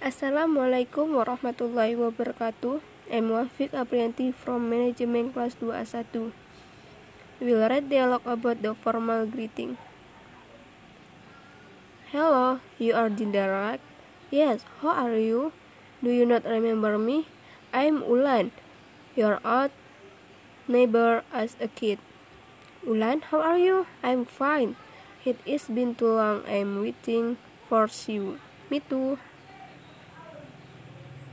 Assalamualaikum warahmatullahi wabarakatuh. I'm Wafiq Aprianti from Management Kelas 2A1. We'll read dialogue about the formal greeting. Hello, you are Dinda, right? Yes, how are you? Do you not remember me? I'm Ulan, your old neighbor as a kid. Ulan, how are you? I'm fine. It has been too long. I'm waiting for you. Me too.